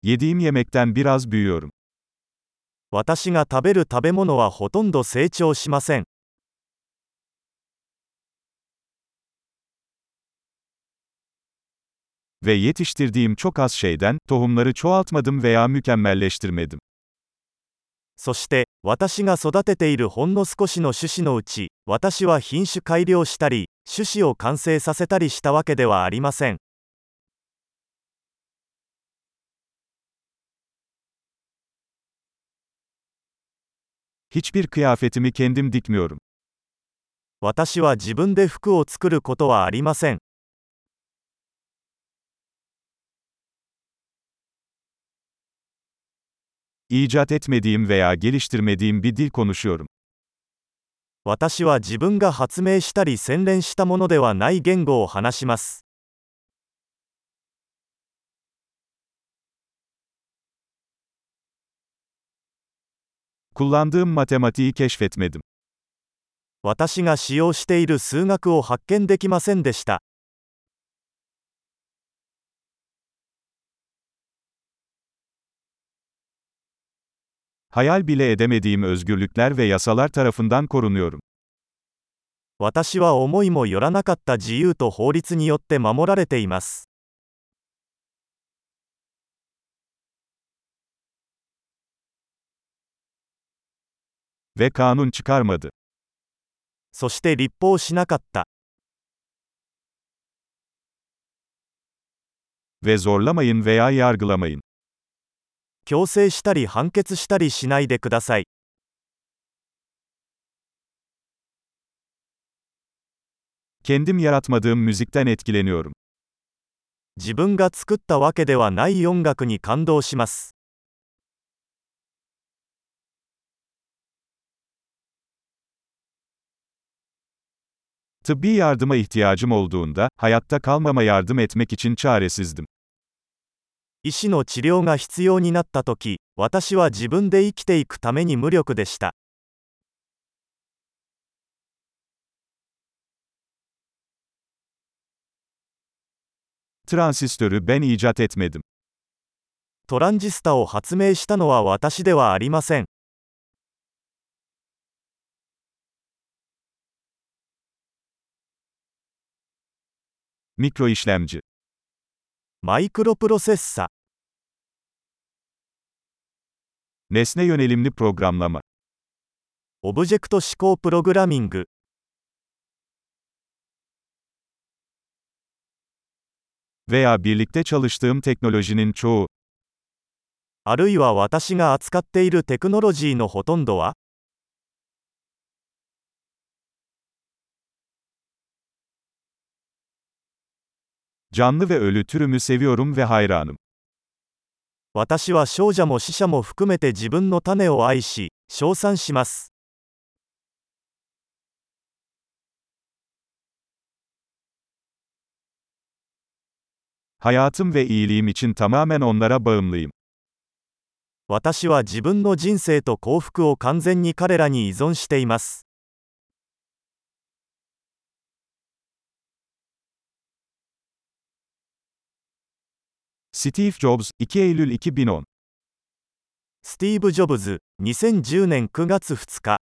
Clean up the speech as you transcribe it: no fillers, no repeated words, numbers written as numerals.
Yediğim yemekten biraz büyüyorum. 私が食べる食べ物はほとんど成長しません。 Ve yetiştirdiğim çok az şeyden, tohumları çoğaltmadım veya mükemmelleştirmedim. そして、私が育てているほんの少しの種子のうち、私は品種改良したり、種子を完成させたりしたわけではありません。 Hiçbir kıyafetimi kendim dikmiyorum. 私は自分で服を作ることはありません。 İcat etmediğim veya geliştirmediğim bir dil konuşuyorum. 私は自分が発明したり洗練したものではない言語を話します。 Kullandığım matematiği keşfetmedim. 私が使用している数学を発見できませんでした。 Hayal bile edemediğim özgürlükler ve yasalar tarafından korunuyorum. 私は思いもよらなかった自由と法律によって守られています。 Ve kanun çıkarmadı. そして立法しなかった。 Ve zorlamayın veya yargılamayın. 強制したり判決したりしないでください。 Kendim yaratmadığım müzikten etkileniyorum. 自分が作ったわけではない音楽に感動します。 Tıbbi yardıma ihtiyacım olduğunda, hayatta kalmama yardım etmek için çaresizdim. 医師の治療が必要になったとき、私は自分で生きていくために無力でした。 Transistörü ben icat etmedim. トランジスタを発明したのは私ではありません。 Mikroişlemci. マイクロプロセッサ。 Nesne yönelimli programlama. オブジェクト指向プログラミング。 Veya birlikte çalıştığım teknolojinin çoğu. あるいは私が扱っているテクノロジーのほとんどは、 Canlı ve ölü türümü seviyorum ve hayranım. 私は少女も死者も含めて自分の種を愛し、称賛します。 Hayatım ve iyiliğim için tamamen onlara bağımlıyım. 私は自分の人生と幸福を完全に彼らに依存しています。 Steve Jobs, 2 Eylül 2010. スティーブ・ジョブズ、2010年9月2日。